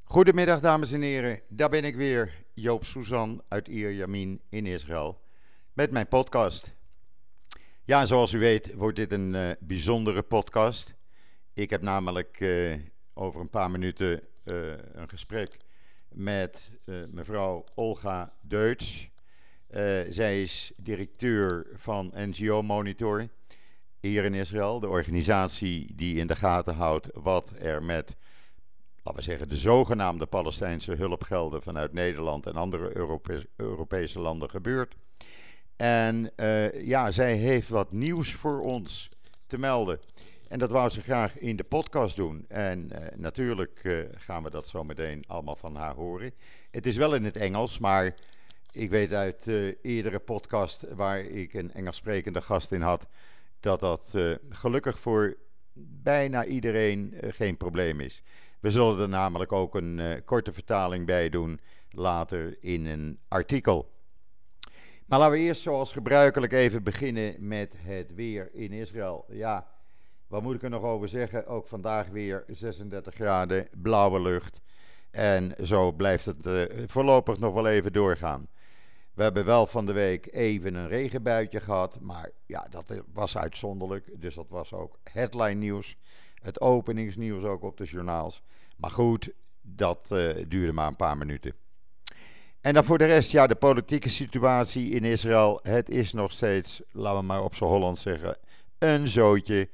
Goedemiddag dames en heren, daar ben ik weer, Joop Suzan uit Ierjemien in Israël, met mijn podcast. Ja, zoals u weet wordt dit een bijzondere podcast. Ik heb namelijk over een paar minuten een gesprek met mevrouw Olga Deutsch. Zij is directeur van NGO Monitor hier in Israël, de organisatie die in de gaten houdt wat er met, laten we zeggen, de zogenaamde Palestijnse hulpgelden vanuit Nederland en andere Europese landen gebeurt. En ja, zij heeft wat nieuws voor ons te melden. En dat wou ze graag in de podcast doen. En natuurlijk gaan we dat zo meteen allemaal van haar horen. Het is wel in het Engels, maar ik weet uit eerdere podcast waar ik een Engels sprekende gast in had, dat gelukkig voor bijna iedereen geen probleem is. We zullen er namelijk ook een korte vertaling bij doen later in een artikel. Maar laten we eerst zoals gebruikelijk even beginnen met het weer in Israël. Ja, wat moet ik er nog over zeggen? Ook vandaag weer 36 graden, blauwe lucht. En zo blijft het voorlopig nog wel even doorgaan. We hebben wel van de week even een regenbuitje gehad, maar ja, dat was uitzonderlijk. Dus dat was ook headline nieuws, het openingsnieuws ook op de journaals. Maar goed, dat duurde maar een paar minuten. En dan voor de rest, ja, de politieke situatie in Israël. Het is nog steeds, laten we maar op z'n Hollands zeggen, een zootje.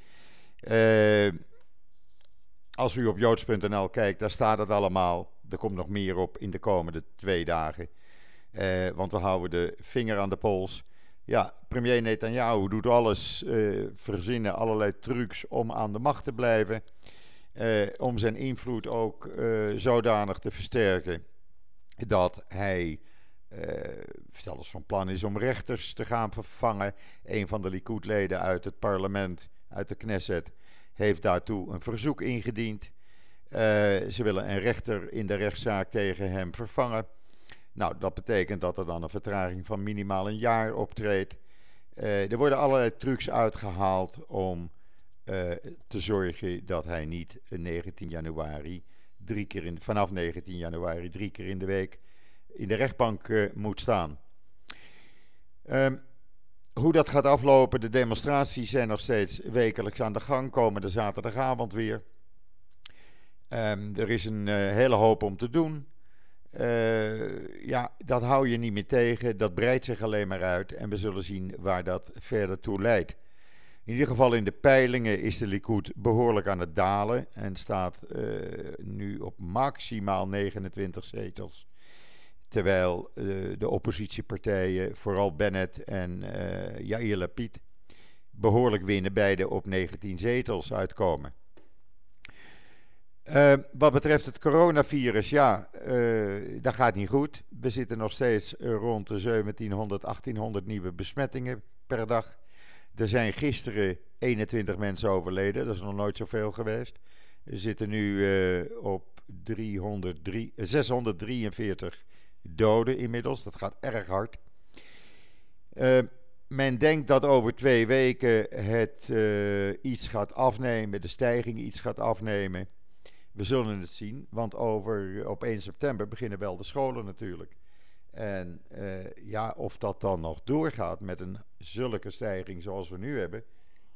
Als u op joods.nl kijkt, daar staat het allemaal. Er komt nog meer op in de komende 2 dagen. Want we houden de vinger aan de pols. Ja, premier Netanyahu doet alles, verzinnen allerlei trucs om aan de macht te blijven. Om zijn invloed ook zodanig te versterken dat hij zelfs van plan is om rechters te gaan vervangen. Een van de Likud-leden uit het parlement, uit de Knesset, heeft daartoe een verzoek ingediend. Ze willen een rechter in de rechtszaak tegen hem vervangen. Nou, dat betekent dat er dan een vertraging van minimaal een jaar optreedt. Er worden allerlei trucs uitgehaald om te zorgen dat hij niet 19 januari vanaf 19 januari 3 keer in de week in de rechtbank moet staan. Hoe dat gaat aflopen, de demonstraties zijn nog steeds wekelijks aan de gang, komende zaterdagavond weer. Er is een hele hoop om te doen. Ja, dat hou je niet meer tegen, dat breidt zich alleen maar uit en we zullen zien waar dat verder toe leidt. In ieder geval in de peilingen is de Likud behoorlijk aan het dalen en staat nu op maximaal 29 zetels. Terwijl de oppositiepartijen, vooral Bennett en Yair Lapid, behoorlijk winnen, beide op 19 zetels uitkomen. Wat betreft het coronavirus, ja, dat gaat niet goed. We zitten nog steeds rond de 1700, 1800 nieuwe besmettingen per dag. Er zijn gisteren 21 mensen overleden, dat is nog nooit zoveel geweest. We zitten nu op 643 doden inmiddels, dat gaat erg hard. Men denkt dat over 2 weken het iets gaat afnemen, de stijging iets gaat afnemen. We zullen het zien, want op 1 september beginnen wel de scholen natuurlijk. En ja, of dat dan nog doorgaat met een zulke stijging zoals we nu hebben,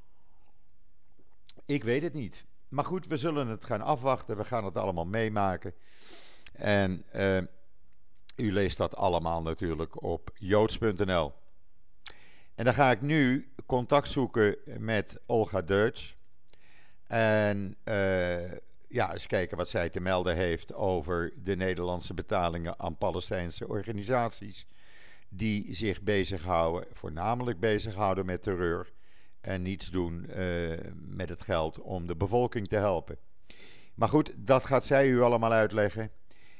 ik weet het niet. Maar goed, we zullen het gaan afwachten, we gaan het allemaal meemaken. En u leest dat allemaal natuurlijk op joods.nl. En dan ga ik nu contact zoeken met Olga Deutsch. En ja, eens kijken wat zij te melden heeft over de Nederlandse betalingen aan Palestijnse organisaties die zich voornamelijk bezighouden met terreur en niets doen met het geld om de bevolking te helpen. Maar goed, dat gaat zij u allemaal uitleggen.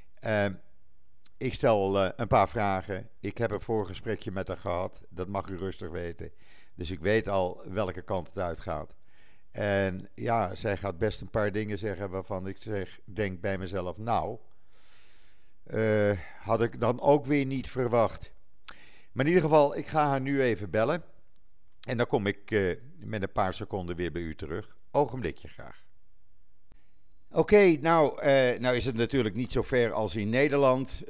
Ik stel een paar vragen. Ik heb een voorgesprekje met haar gehad, dat mag u rustig weten. Dus ik weet al welke kant het uitgaat. En ja, zij gaat best een paar dingen zeggen waarvan ik denk bij mezelf, nou, had ik dan ook weer niet verwacht. Maar in ieder geval, ik ga haar nu even bellen. En dan kom ik met een paar seconden weer bij u terug. Ogenblikje graag. Oké, nou is het natuurlijk niet zo ver als in Nederland,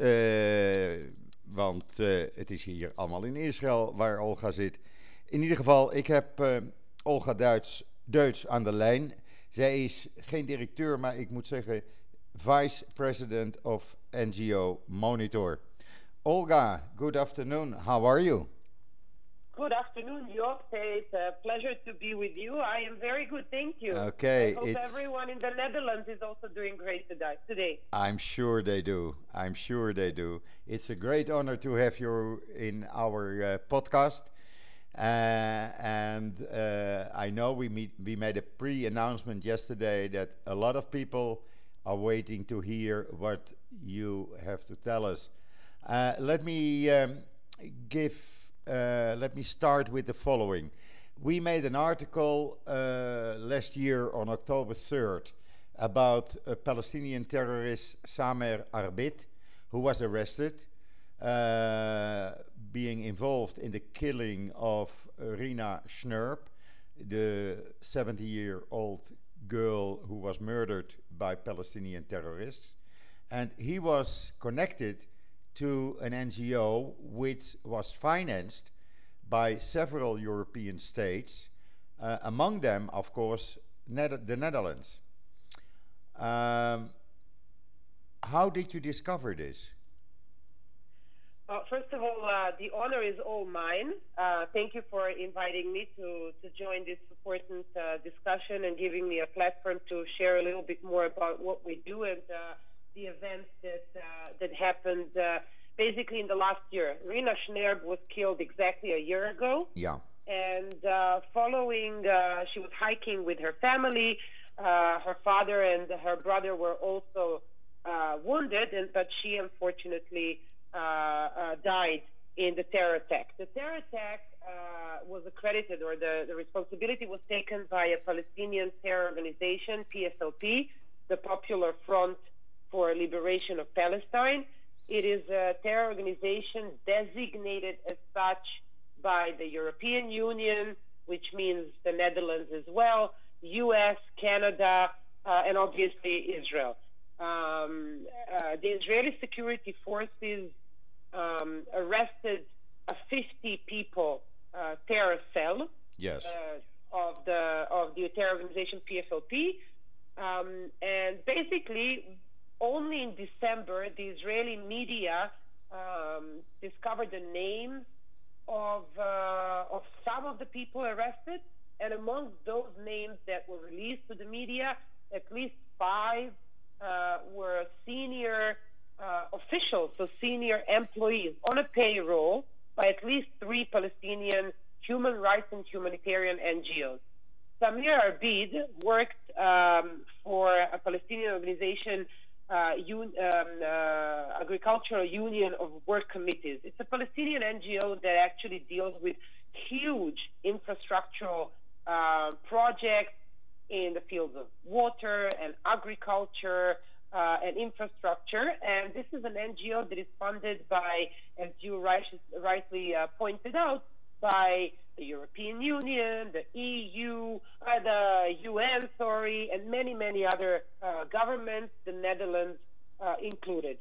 want het is hier allemaal in Israël waar Olga zit. In ieder geval, ik heb Olga Deutsch aan de lijn. Zij is geen directeur, maar ik moet zeggen Vice President of NGO Monitor. Olga, good afternoon. How are you? Good afternoon, Job. It's a pleasure to be with you. I am very good, thank you. I Okay, hope everyone in the Netherlands is also doing great today. I'm sure they do. I'm sure they do. It's a great honor to have you in our podcast. And I know we made a pre-announcement yesterday that a lot of people are waiting to hear what you have to tell us. Let me give. Let me start with the following. We made an article last year on October 3rd about a Palestinian terrorist Samer Arbit, who was arrested, uh, being involved in the killing of Rina Schnurp, the 70-year-old girl who was murdered by Palestinian terrorists. And he was connected to an NGO which was financed by several European states, among them, of course, the Netherlands. Um, how did you discover this? First of all, the honor is all mine. Thank you for inviting me to join this important discussion and giving me a platform to share a little bit more about what we do and the events that happened basically in the last year. Rina Schnerb was killed exactly a year ago. Yeah. And following, she was hiking with her family. Her father and her brother were also wounded, but she unfortunately died in the terror attack. The terror attack was accredited, or the responsibility was taken by a Palestinian terror organization, PFLP, the Popular Front for Liberation of Palestine. It is a terror organization designated as such by the European Union, which means the Netherlands as well, US, Canada, and obviously Israel. The Israeli security forces arrested a 50 people terror cell Yes. of the terror organization PFLP, and basically only in December the Israeli media discovered the names of some of the people arrested, and among those names that were released to the media, at least five were senior officials, so senior employees on a payroll by at least three Palestinian human rights and humanitarian NGOs. Samir Arbid worked for a Palestinian organization, Agricultural Union of Work Committees. It's a Palestinian NGO that actually deals with huge infrastructural projects in the fields of water and agriculture and infrastructure. And this is an NGO that is funded by, as you rightly pointed out, by the European Union, the EU, the UN, and many, many other governments, the Netherlands included.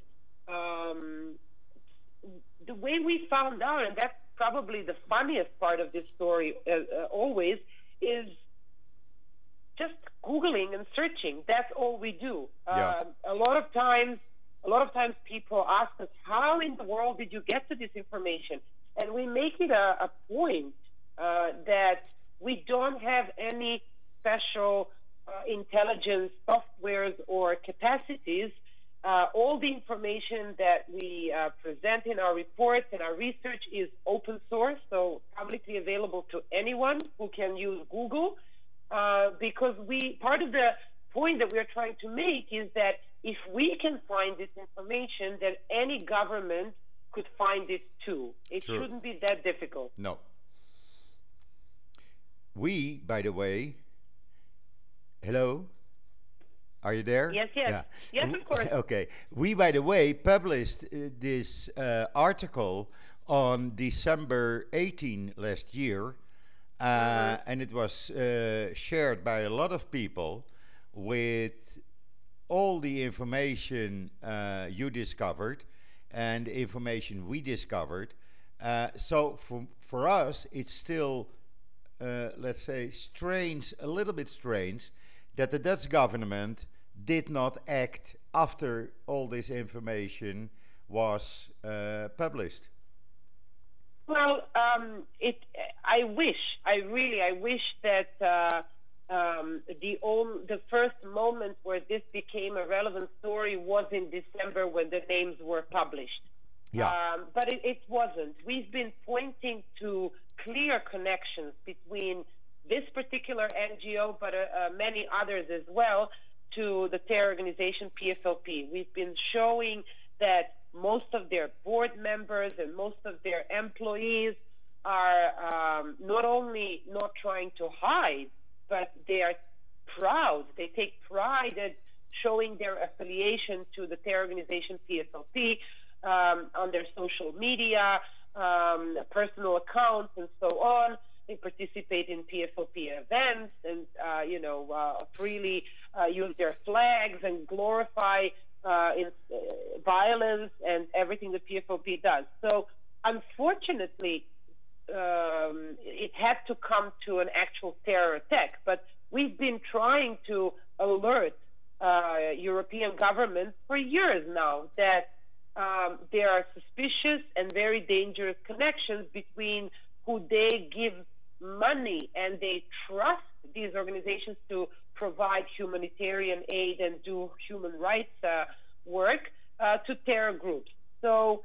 The way we found out, and that's probably the funniest part of this story always, is just Googling and searching. That's all we do. Yeah. A lot of times people ask us, how in the world did you get to this information? And we make it a point that we don't have any special intelligence softwares or capacities. All the information that we present in our reports and our research is open source, so publicly available to anyone who can use Google. Because part of the point that we're trying to make is that if we can find this information, then any government could find it too. It True. shouldn't be that difficult. No. We, by the way, hello? Are you there? Yes, yes. Yeah. Yes, of course. Okay. We, by the way, published this article on December 18 last year, and it was shared by a lot of people with all the information you discovered and the information we discovered. So for us, it's still, let's say, strange, a little bit strange, that the Dutch government did not act after all this information was published. Well, I wish that the first moment where this became a relevant story was in December when the names were published. Yeah. But it wasn't. We've been pointing to clear connections between this particular NGO, but many others as well, to the terror organization PFLP. We've been showing that most of their board members and most of their employees are not only not trying to hide, but they are proud. They take pride at showing their affiliation to the terror organization PFLP on their social media, personal accounts, and so on. They participate in PFLP events and, freely use their flags and glorify violence and everything the PFLP does. So, unfortunately, it had to come to an actual terror attack. But we've been trying to alert European governments for years now that there are suspicious and very dangerous connections between who they give money and they trust these organizations to provide humanitarian aid and do human rights work to terror groups. So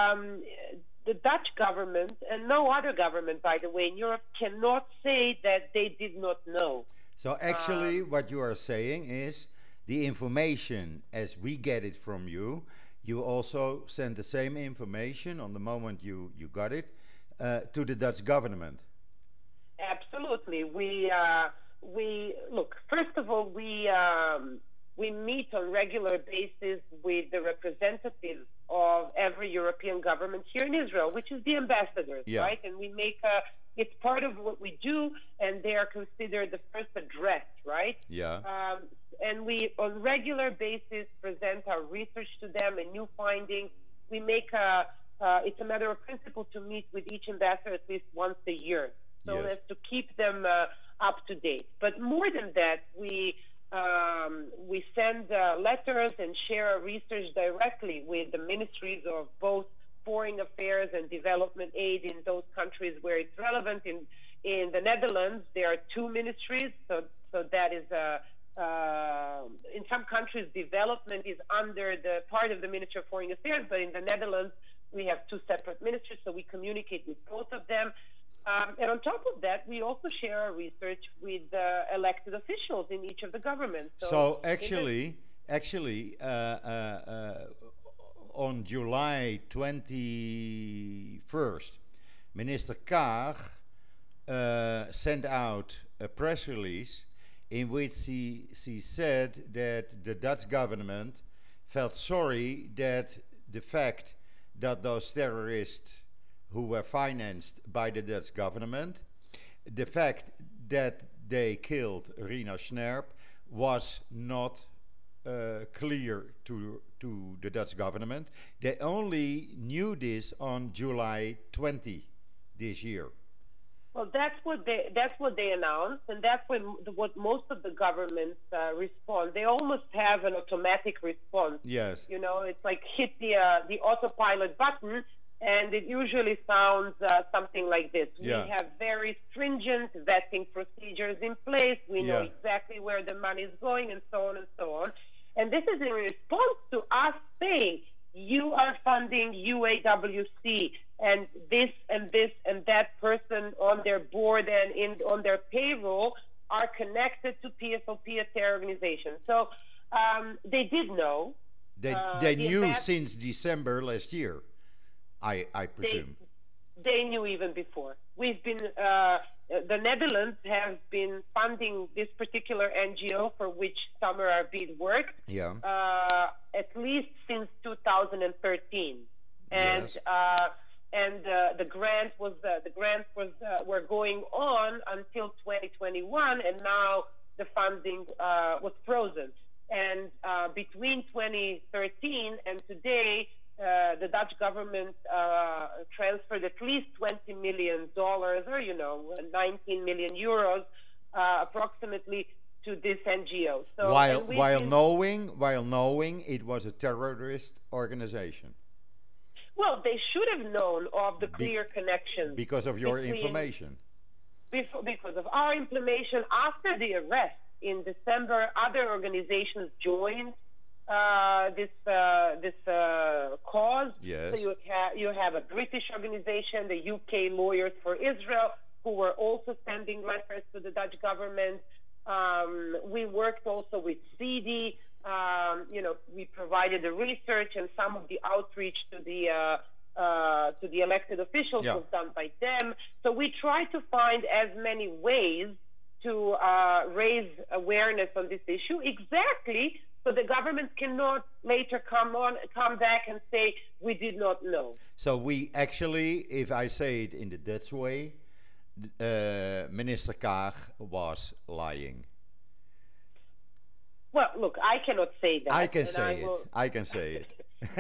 the Dutch government, and no other government, by the way, in Europe, cannot say that they did not know. So actually, what you are saying is the information as we get it from you, you also send the same information on the moment you got it to the Dutch government. Absolutely. We look. First of all, we meet on regular basis with the representatives of every European government here in Israel, which is the ambassadors, right? And we make it's part of what we do, and they are considered the first address, right? Yeah. And we, on regular basis, present our research to them and new findings. We make it's a matter of principle to meet with each ambassador at least once a year, so as to keep them up to date. But more than that, we send letters and share our research directly with the ministries of both foreign affairs and development aid in those countries where it's relevant. In the Netherlands, there are two ministries, so that is in some countries development is under the part of the Ministry of Foreign Affairs, but in the Netherlands we have two separate ministries, so we communicate with both of them. And on top of that, we also share our research with elected officials in each of the governments. So actually, on July 21st, Minister Kaag sent out a press release in which she said that the Dutch government felt sorry that the fact that those terrorists who were financed by the Dutch government, the fact that they killed Rina Snerp was not clear to the Dutch government. They only knew this on July 20 this year. Well, that's what they announced, and that's what most of the governments respond. They almost have an automatic response. Yes. You know, it's like hit the autopilot button, and it usually sounds something like this. Yeah. We have very stringent vetting procedures in place. We know exactly where the money is going, and so on and so on. And this is in response to us saying, you are funding UAWC, and this and this and that person on their board and on their payroll are connected to PFLP, a terror organization. So they did know. They knew since December last year, I presume. They knew even before. We've been, the Netherlands have been funding this particular NGO for which Summer Arvid worked, at least since 2013. And Yes. The grants were going on until 2021, and now the funding was frozen. And between 2013 and today, the Dutch government transferred at least $20 million, or 19 million euros, approximately, to this NGO. So, while knowing it was a terrorist organization. Well, they should have known of the clear connections because of your information. Because of our information. After the arrest in December, other organizations joined this cause. Yes. So you have a British organization, the UK Lawyers for Israel, who were also sending letters to the Dutch government. We worked also with CD. We provided the research, and some of the outreach to the elected officials was done by them. So we try to find as many ways to raise awareness on this issue, exactly so the government cannot later come back and say we did not know. So we actually, if I say it in the Dutch way, Minister Kaag was lying. Well, look, I cannot say that. I can say it. I can say it.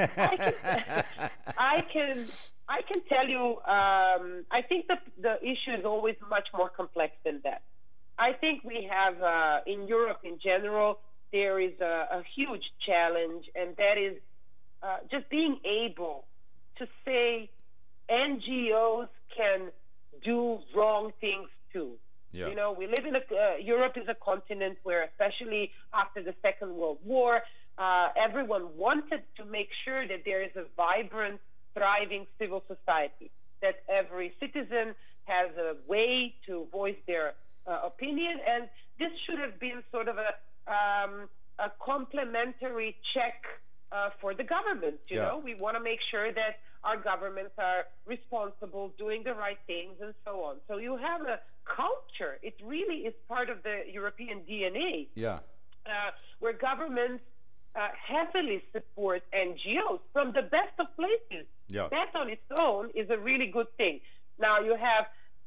I can tell you. I think the issue is always much more complex than that. I think we have in Europe in general there is a huge challenge, and that is just being able to say NGOs can do wrong things too. Yeah. We live in Europe is a continent where, especially after the Second World War, everyone wanted to make sure that there is a vibrant, thriving civil society, that every citizen has a way to voice their opinion, and this should have been sort of a complementary check for the government. You know, we want to make sure that our governments are responsible, doing the right things, and so on. So you have a culture. It really is part of the European DNA. Yeah. Where governments heavily support NGOs from the best of places. Yeah. That on its own is a really good thing. Now you have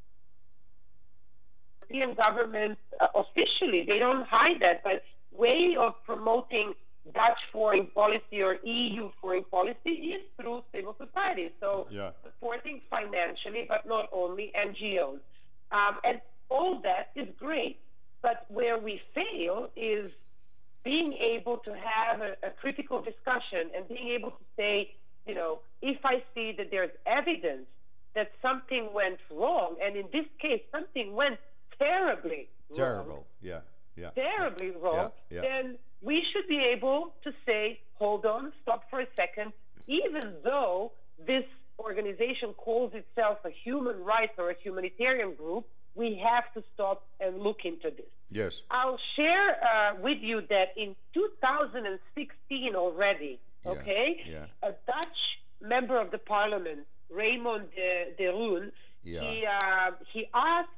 European governments officially, they don't hide that, but way of promoting Dutch foreign policy or EU foreign policy is through civil society. So supporting financially, but not only NGOs. And all that is great. But where we fail is being able to have a critical discussion and being able to say, if I see that there's evidence that something went wrong, and in this case, something went terribly wrong, terribly wrong, then we should be able to say, hold on, stop for a second, even though this organization calls itself a human rights or a humanitarian group, we have to stop and look into this. Yes. I'll share with you that in 2016 already, a Dutch member of the parliament, Raymond de Roon, he asked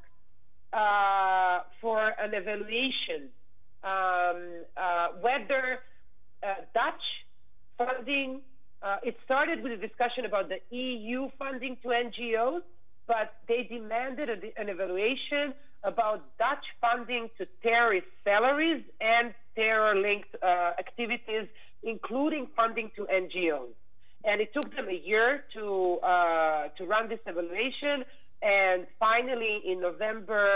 for an evaluation whether Dutch funding, it started with a discussion about the EU funding to NGOs, but they demanded an evaluation about Dutch funding to terrorist salaries and terror-linked activities, including funding to NGOs. And it took them a year to run this evaluation, and finally in November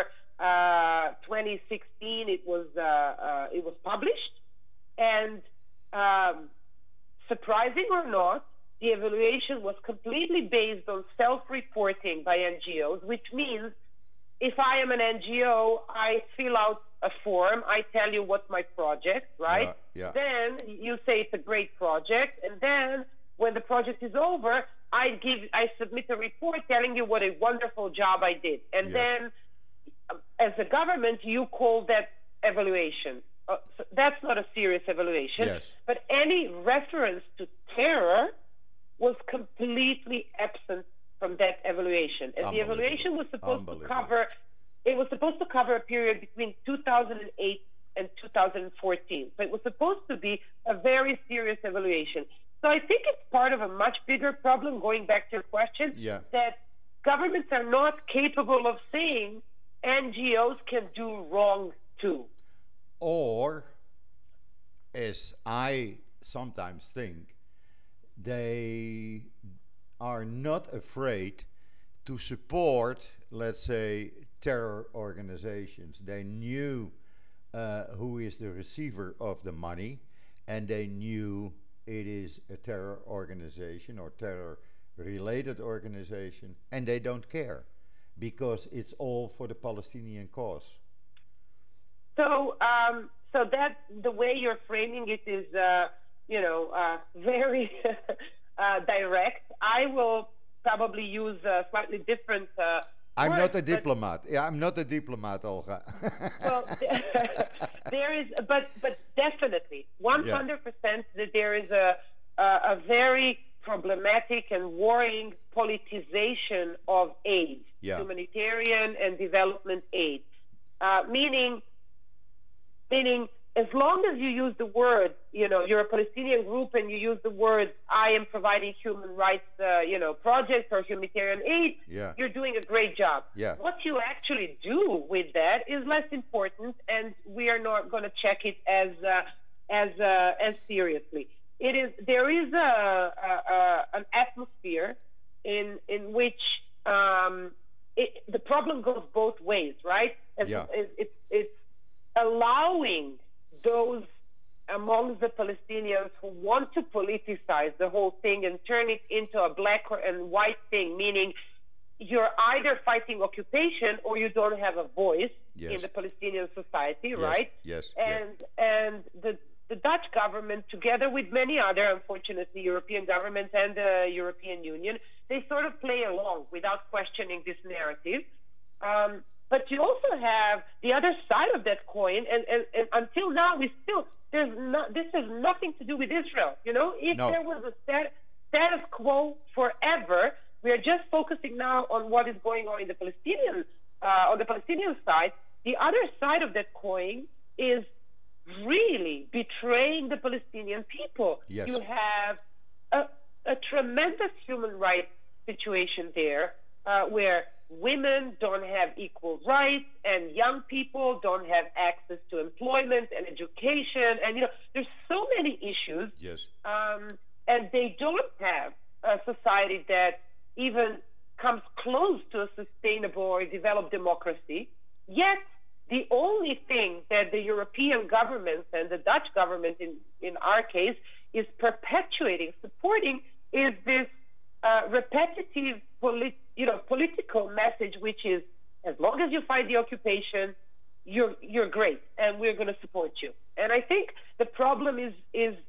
2016 it was published. And surprising or not, the evaluation was completely based on self-reporting by NGOs, which means if I am an NGO, I fill out a form, I tell you what's my project, right? Then you say it's a great project, and then when the project is over, I submit a report telling you what a wonderful job I did. And then as a government, you call that evaluation. So that's not a serious evaluation. But any reference to terror was completely absent from that evaluation. And the evaluation was supposed to cover, a period between 2008 and 2014. So it was supposed to be a very serious evaluation. So I think it's part of a much bigger problem, going back to your question, that governments are not capable of saying NGOs can do wrong too. Or as I sometimes think, they are not afraid to support, let's say, terror organizations. They knew who is the receiver of the money, and they knew it is a terror organization or terror related organization, and they don't care because it's all for the Palestinian cause. So that the way you're framing it is, very direct. I will probably use slightly different I'm words, not a but diplomat. Yeah, I'm not a diplomat, Olga. well, there is, but definitely, Yeah, 100% that there is a very problematic and worrying politicization of aid, yeah, humanitarian and development aid, meaning as long as you use the word, you're a Palestinian group and you use the word, I am providing human rights, projects or humanitarian aid, yeah, you're doing a great job. yeah, What you actually do with that is less important, and we are not going to check it as seriously. There is an atmosphere in which the problem goes both ways, right? And yeah, it's allowing those among the Palestinians who want to politicize the whole thing and turn it into a black and white thing, meaning you're either fighting occupation or you don't have a voice in yes, the Palestinian society, yes, right? yes, yes, And the Dutch government, together with many other, unfortunately, European governments and the European Union, they sort of play along without questioning this narrative. But you also have the other side of that coin, and until now, this has nothing to do with Israel. If no, there was a status quo forever, we are just focusing now on what is going on in the on the Palestinian side. The other side of that coin is really betraying the Palestinian people. yes, You have a tremendous human rights situation there, where women don't have equal rights and young people don't have access to employment and education. And, there's so many issues. yes, And they don't have a society that even comes close to a sustainable or developed democracy. Yet, the only thing that the European governments and the Dutch government, in our case, is perpetuating, supporting, is this repetitive political message, which is, as long as you fight the occupation, you're great, and we're going to support you. And I think the problem is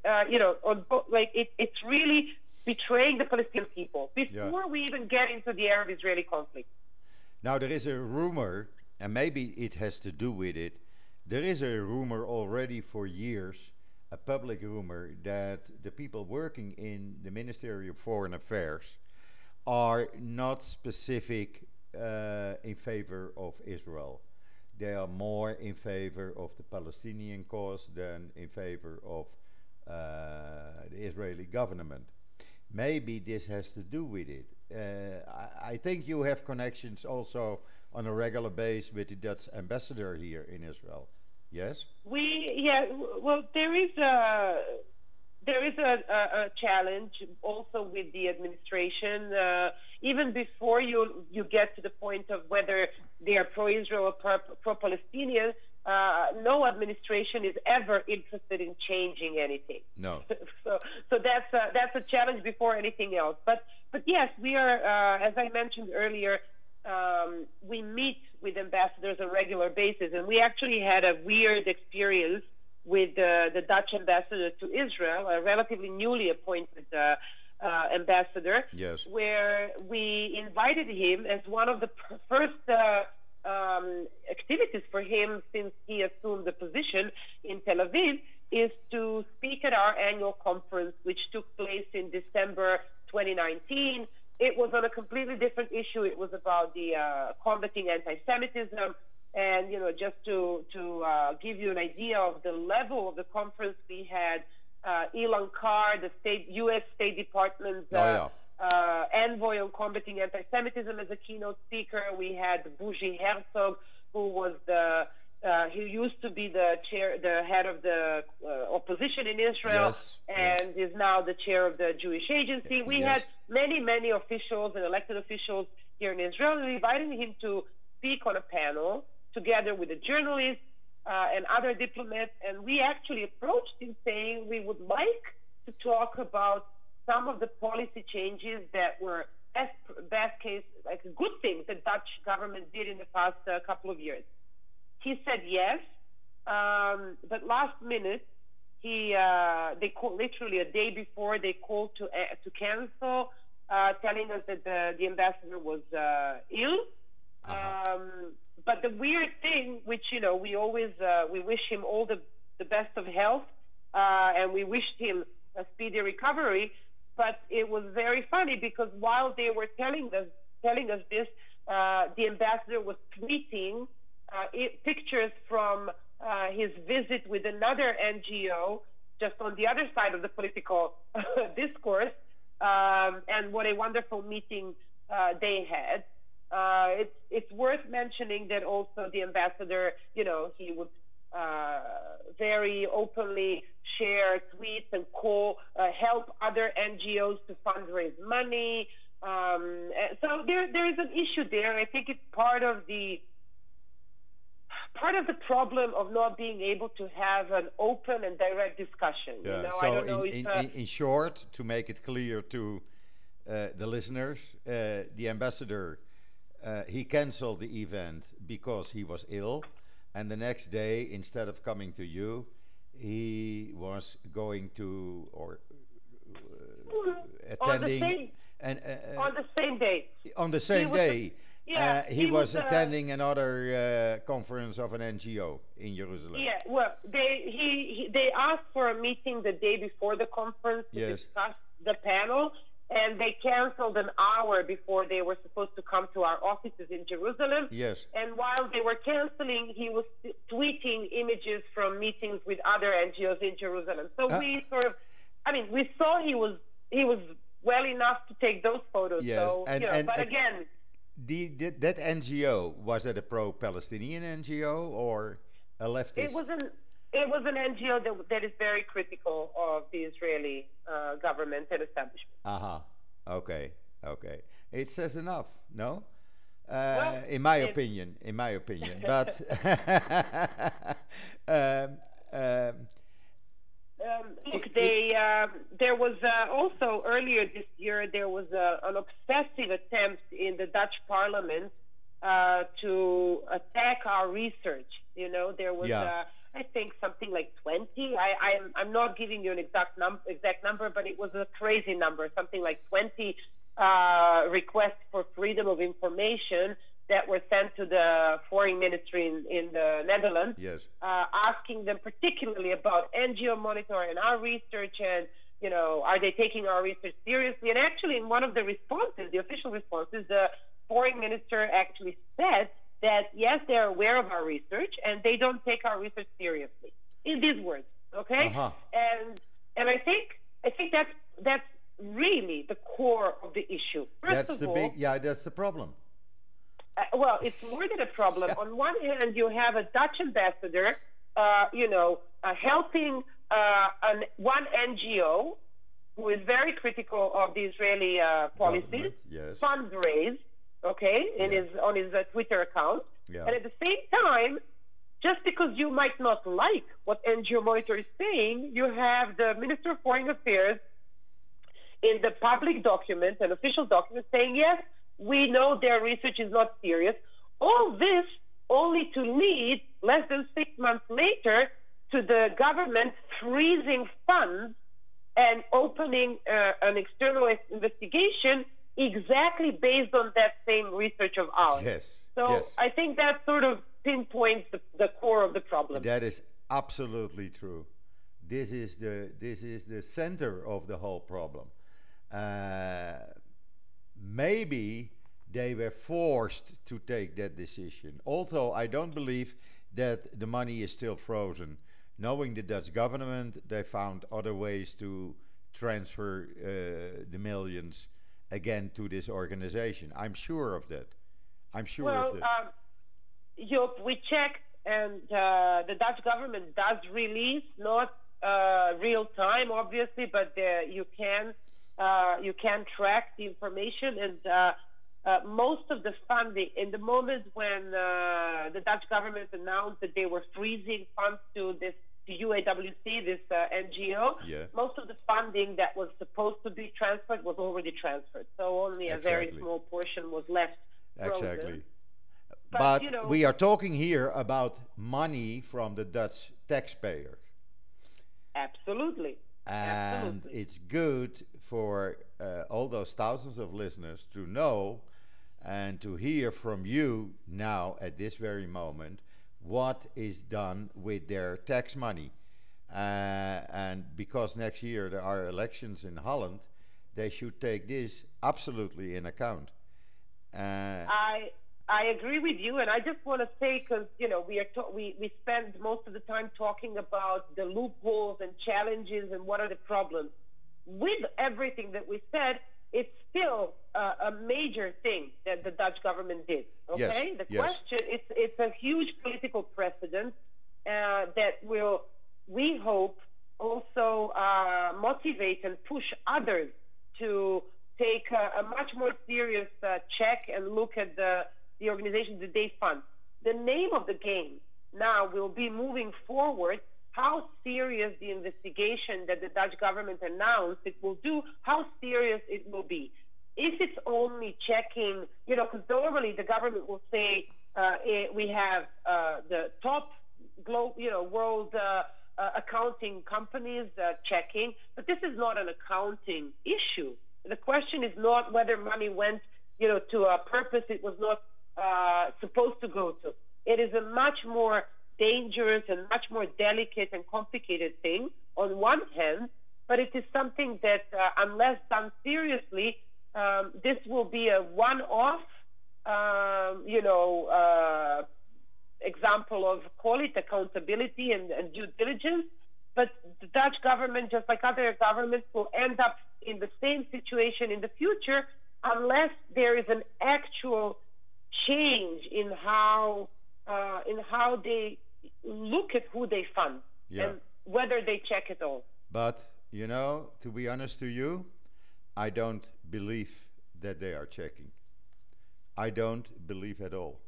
it's really betraying the Palestinian people yeah. before we even get into the Arab-Israeli conflict. Now there is a rumor, and maybe it has to do with it. There is a rumor already for years, a public rumor, that the people working in the Ministry of Foreign Affairs are not specific in favor of Israel. They are more in favor of the Palestinian cause than in favor of the Israeli government. Maybe this has to do with it. I think you have connections also on a regular basis with the Dutch ambassador here in Israel. Yes? Well, there is a challenge also with the administration. Even before you get to the point of whether they are pro-Israel or pro-Palestinian, no administration is ever interested in changing anything. No. So that's a challenge before anything else. But yes, we are, as I mentioned earlier, we meet with ambassadors on a regular basis, and we actually had a weird experience with the Dutch ambassador to Israel, a relatively newly appointed ambassador, Yes. where we invited him as one of the first activities for him since he assumed the position in Tel Aviv is to speak at our annual conference, which took place in December 2019. It was on a completely different issue. It was about the combating anti-Semitism. And, just to give you an idea of the level of the conference, we had Ilan Carr, the U.S. State Department's envoy on combating anti-Semitism, as a keynote speaker. We had Bougie Herzog, who was the He used to be the head of the opposition in Israel, Yes, yes, and is now the chair of the Jewish Agency. We had yes. many, many officials and elected officials here in Israel, and we invited him to speak on a panel together with a journalist and other diplomats. And we actually approached him saying we would like to talk about some of the policy changes that were best case, like good things the Dutch government did in the past couple of years. He said yes, but last minute they called literally a day before. They called to cancel, telling us that the ambassador was ill. Uh-huh. But the weird thing, which we always we wish him all the best of health, and we wished him a speedy recovery. But it was very funny because while they were telling us this, the ambassador was tweeting pictures from his visit with another NGO, just on the other side of the political discourse, and what a wonderful meeting they had. It's worth mentioning that also the ambassador, he would very openly share tweets and help other NGOs to fundraise money. So there is an issue there. I think it's part of the problem of not being able to have an open and direct discussion. Yeah. I So don't know if in short, to make it clear to the listeners, the ambassador he canceled the event because he was ill, and the next day, instead of coming to you, he was going to or on the attending same and on the same day. on the He same was day. He he was was attending another conference of an NGO in Jerusalem. yeah. Well, they asked for a meeting the day before the conference to Yes. discuss the panel, and they canceled an hour before they were supposed to come to our offices in Jerusalem. Yes. And while they were canceling, he was tweeting images from meetings with other NGOs in Jerusalem. So we we saw he was well enough to take those photos. Yes. So but again, that NGO, was it a pro-Palestinian NGO or a leftist? it was an NGO that is very critical of the Israeli government and establishment. Uh-huh. Okay. Okay. It says enough, no? Well, in my opinion. But um, um, Look, there was also earlier this year there was an obsessive attempt in the Dutch Parliament to attack our research. There was I think something like 20. I'm not giving you an exact number, but it was a crazy number, something like 20 requests for freedom of information that were sent to the foreign ministry in the Netherlands, yes. Asking them particularly about NGO Monitor and our research, and are they taking our research seriously? And actually, in one of the responses, the official responses, the foreign minister actually said that yes, they're aware of our research and they don't take our research seriously. In these words, okay? Uh-huh. And I think that's really the core of the issue. That's the problem. Well, it's more than a problem. On one hand, you have a Dutch ambassador, helping one NGO who is very critical of the Israeli policies, yes. fundraise, on his Twitter account, and at the same time, just because you might not like what NGO Monitor is saying, you have the Minister of Foreign Affairs in the public document, an official document, saying yes, we know their research is not serious. All this only to lead less than 6 months later to the government freezing funds and opening an external investigation exactly based on that same research of ours. Yes. So yes. I think that sort of pinpoints the core of the problem. That is absolutely true. This is the center of the whole problem. Maybe they were forced to take that decision. Although I don't believe that the money is still frozen. Knowing the Dutch government, they found other ways to transfer the millions again to this organization. I'm sure of that. Joop, we checked and the Dutch government does release, not real time, obviously, but you can track the information. And most of the funding, in the moment when the Dutch government announced that they were freezing funds to this to UAWC, this NGO, Yeah. most of the funding that was supposed to be transferred was already transferred. So only a very Exactly. small portion was left frozen. Exactly. But, But we are talking here about money from the Dutch taxpayer. absolutely. And Absolutely. it's good for all those thousands of listeners to know and to hear from you now at this very moment what is done with their tax money. And because next year there are elections in Holland, they should take this absolutely in account. Uh, I agree with you, and I just want to say, because we spend most of the time talking about the loopholes and challenges and what are the problems. With everything that we said, it's still a major thing that the Dutch government did. Okay, yes, the yes, question it's a huge political precedent that will, we hope, also motivate and push others to take a much more serious check and look at the organizations that they fund. The name of the game now will be moving forward how serious the investigation that the Dutch government announced it will do, how serious it will be. If it's only checking, because normally the government will say we have the top world accounting companies checking, but this is not an accounting issue. The question is not whether money went, to a purpose it was not supposed to go to. It is a much more dangerous and much more delicate and complicated thing on one hand, but it is something that, unless done seriously, this will be a one-off, example of, call it accountability and due diligence. But the Dutch government, just like other governments, will end up in the same situation in the future unless there is an actual change in how they look at who they fund yeah. and whether they check it all. But, to be honest to you, I don't believe that they are checking. I don't believe at all.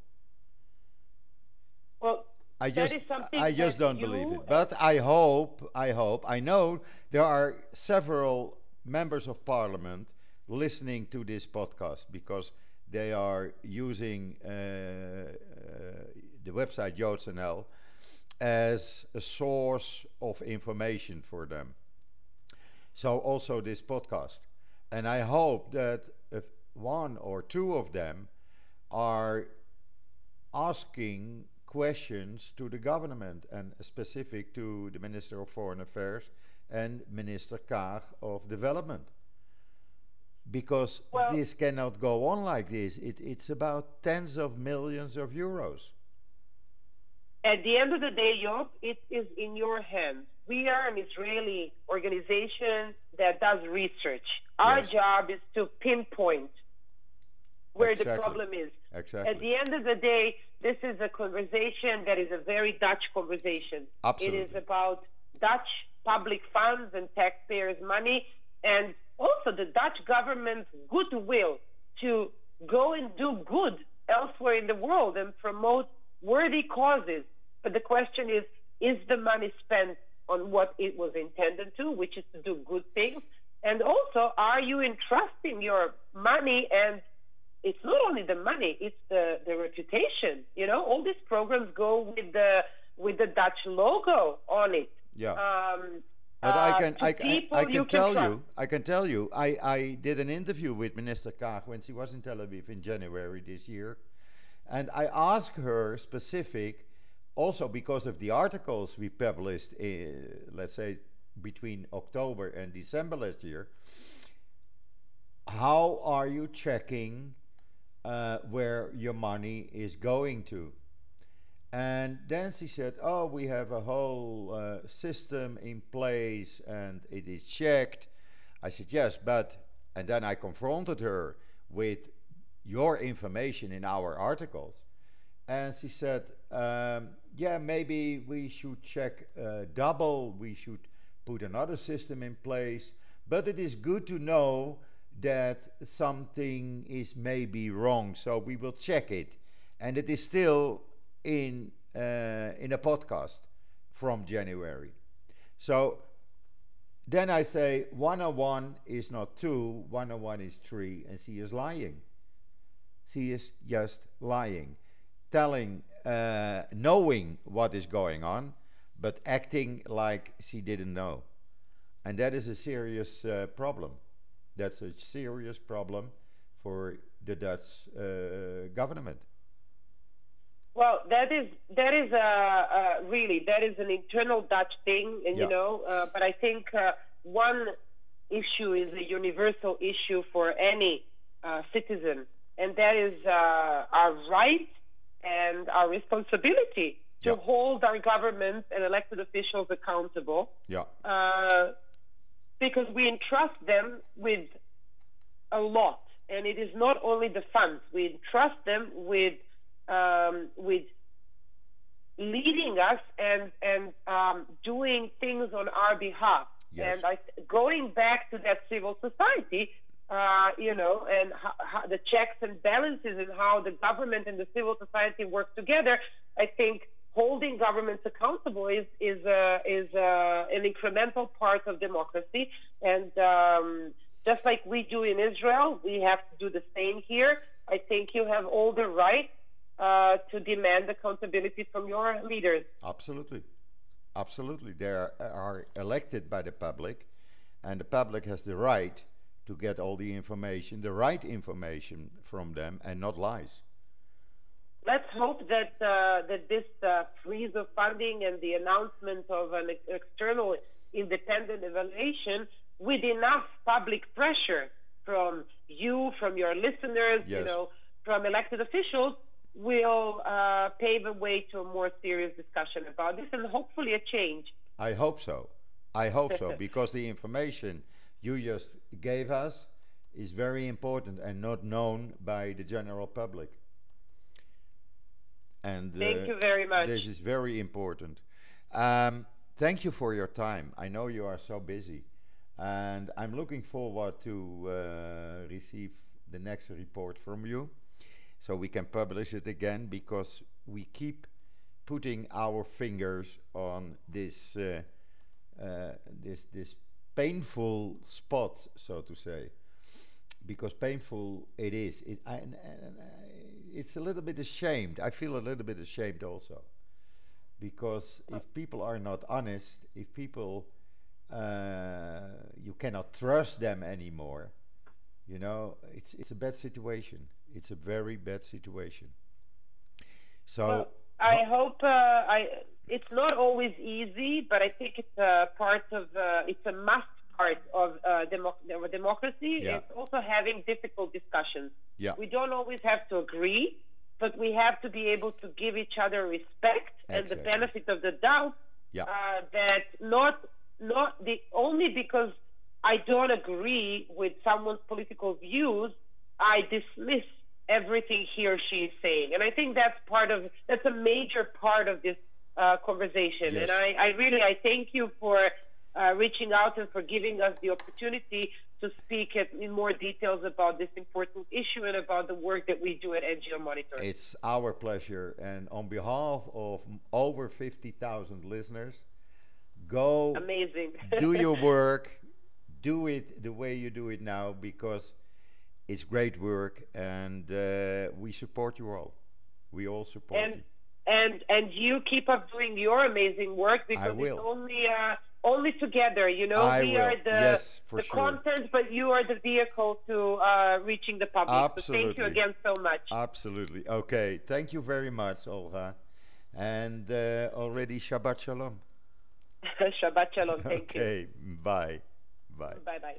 Well, I that just, is something I just that don't believe it. But I hope, I know there are several members of parliament listening to this podcast because they are using the website JoodsNL as a source of information for them. So also this podcast. And I hope that if one or two of them are asking questions to the government and specific to the Minister of Foreign Affairs and Minister Kaag of Development. Because Well, this cannot go on like this. It's about tens of millions of euros. at the end of the day, Job, it is in your hands. We are an Israeli organization that does research. Our Yes, job is to pinpoint where the exactly. problem is. At Exactly. the end of the day, this is a conversation that is a very Dutch conversation. It is Absolutely. about Dutch public funds and taxpayers' money, and also the Dutch government's goodwill to go and do good elsewhere in the world and promote worthy causes. But the question is the money spent on what it was intended to, which is to do good things? And also, are you entrusting your money? And it's not only the money, it's the reputation. All these programs go with the Dutch logo on it. Yeah. Um, But to people I you can can tell trust. you, I did an interview with Minister Kaag when she was in Tel Aviv in January this year. And I asked her specific, also because of the articles we published, let's say, between October and December last year, how are you checking where your money is going to? And then she said, "Oh, we have a whole system in place and it is checked." I said, "Yes, but," and then I confronted her with your information in our articles. and she said, "Yeah, maybe we should check double. We should put another system in place. But it is good to know that something is maybe wrong, so we will check it." And it is still in a podcast from January. So then I say 101 is not 2, 101 is 3, and she is lying. She is just lying, telling, knowing what is going on, but acting like she didn't know. And that is a serious problem. That's a serious problem for the Dutch government. Well, that is really that is an internal Dutch thing, and Yeah. but I think one issue is a universal issue for any citizen, and that is our right and our responsibility to Yeah. hold our governments and elected officials accountable, Yeah. because we entrust them with a lot, and it is not only the funds. We entrust them with leading us and doing things on our behalf. Yes. And going back to that civil society, and how the checks and balances and how the government and the civil society work together, I think holding governments accountable is an incremental part of democracy. And just like we do in Israel, we have to do the same here. I think you have all the right to demand accountability from your leaders. Absolutely. Absolutely. They are elected by the public, and the public has the right to get all the information, the right information from them, and not lies. Let's hope that this freeze of funding and the announcement of an external independent evaluation with enough public pressure from you, from your listeners, Yes. from elected officials, will pave a way to a more serious discussion about this and hopefully a change. I hope so. I hope so, because the information you just gave us is very important and not known by the general public. And Thank you very much. this is very important. Thank you for your time. I know you are so busy, and I'm looking forward to receive the next report from you, so we can publish it again, because we keep putting our fingers on this painful spot, so to say, because painful it is. It's a little bit ashamed. I feel a little bit ashamed also, because if people are not honest, if people you cannot trust them anymore, it's a bad situation. It's a very bad situation. So Well, I hope it's not always easy, but I think it's a part of it's a must part of democracy. Yeah. It's also having difficult discussions. yeah, We don't always have to agree, but we have to be able to give each other respect and the Exactly. benefit of the doubt. Yeah. That not the only because I don't agree with someone's political views, I dismiss everything he or she is saying. And I think that's a major part of this conversation. Yes. And I thank you for reaching out and for giving us the opportunity to speak in more details about this important issue and about the work that we do at NGO Monitor. it's our pleasure, and on behalf of over 50,000 listeners, go Amazing. do your work, do it the way you do it now, because it's great work, and we support you all. We all support you. And you keep up doing your amazing work, because will. it's only together. I We will. are Yes, for the sure. content, but you are the vehicle to reaching the public. So thank you Absolutely. again so much. Absolutely. Okay. Thank you very much, Olga. And already Shabbat Shalom. Shabbat shalom. Thank you. Okay. Bye. Bye. Bye bye.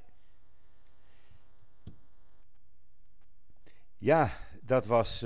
Ja, dat was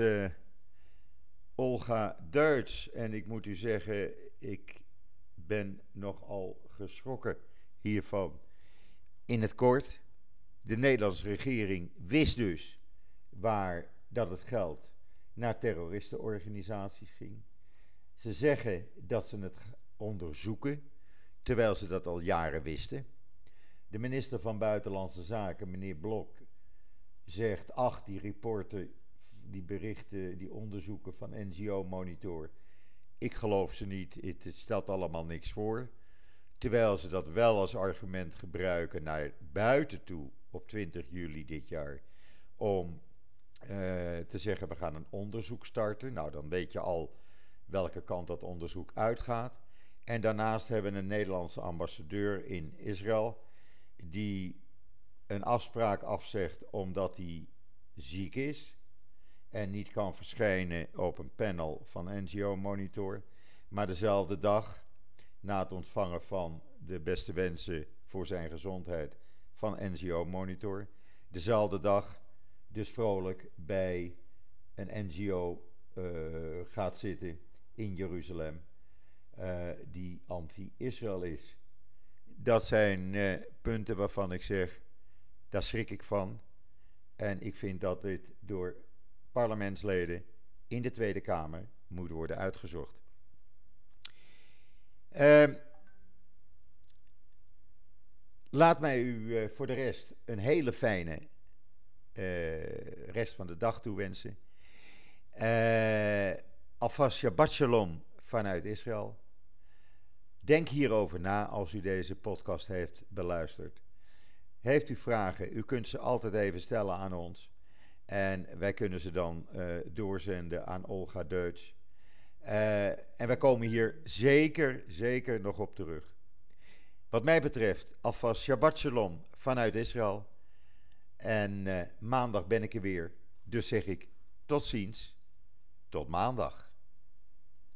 Olga Deutsch. En ik moet u zeggen, ik ben nogal geschrokken hiervan. In het kort, de Nederlandse regering wist dus waar dat het geld naar terroristenorganisaties ging. Ze zeggen dat ze het onderzoeken, terwijl ze dat al jaren wisten. De minister van Buitenlandse Zaken, meneer Blok, zegt: ach, die rapporten, die berichten, die onderzoeken van NGO Monitor, ik geloof ze niet, het stelt allemaal niks voor. Terwijl ze dat wel als argument gebruiken naar buiten toe op 20 juli dit jaar, om te zeggen: we gaan een onderzoek starten. Nou, dan weet je al welke kant dat onderzoek uitgaat. En daarnaast hebben we een Nederlandse ambassadeur in Israël die een afspraak afzegt omdat hij ziek is en niet kan verschijnen op een panel van NGO Monitor. Maar dezelfde dag, na het ontvangen van de beste wensen voor zijn gezondheid van NGO Monitor, dezelfde dag dus vrolijk bij een NGO gaat zitten in Jeruzalem, die anti-Israël is. Dat zijn punten waarvan ik zeg, daar schrik ik van. En ik vind dat dit door parlementsleden in de Tweede Kamer moet worden uitgezocht. Laat mij u voor de rest een hele fijne rest van de dag toewensen. Alvast Shabbat Shalom vanuit Israël. Denk hierover na als u deze podcast heeft beluisterd. Heeft u vragen, u kunt ze altijd even stellen aan ons. En wij kunnen ze dan doorzenden aan Olga Deutsch. En wij komen hier zeker nog op terug. Wat mij betreft, alvast Shabbat Shalom vanuit Israël. En maandag ben ik er weer. Dus zeg ik tot ziens, tot maandag.